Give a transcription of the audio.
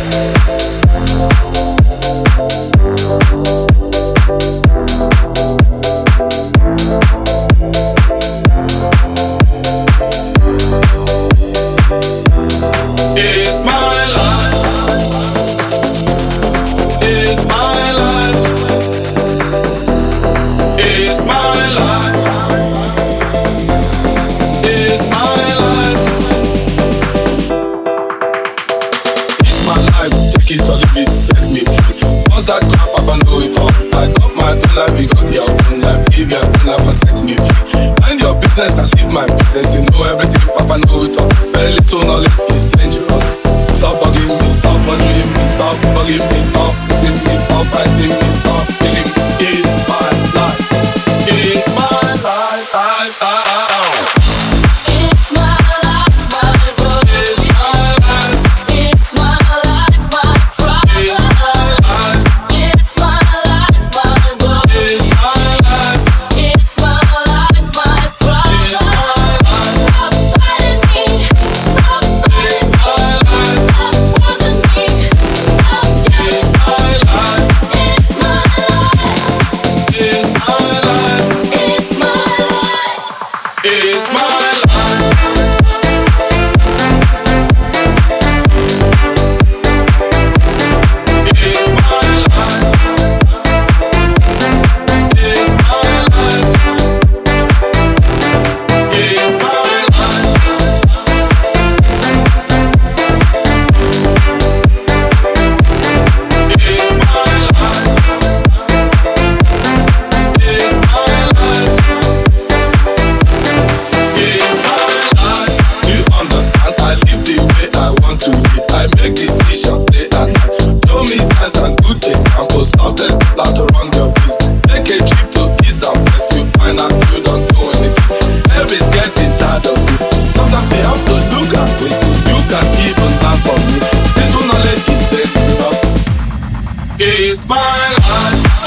Take it or leave it, set me free. Once that crap up, I know it all. I got my own life, we got your own life. Live your own life and set me free. Mind your business and leave my business. You know everything, Papa know it all. Very little knowledge is dangerous. Stop bugging me, stop wondering me, stop bugging me, stop missing me, stop fighting me, stop killing me. It's my life. It's my life. It's my life, my world. It's my life. It's my life, my problem. It's my life, my world. It's my life. It's my life, my problem. Stop fighting me. Stop fighting me. Stop forcing me. Stop getting me. It's my life. It's my life. It's my life. It's my life. It's my life.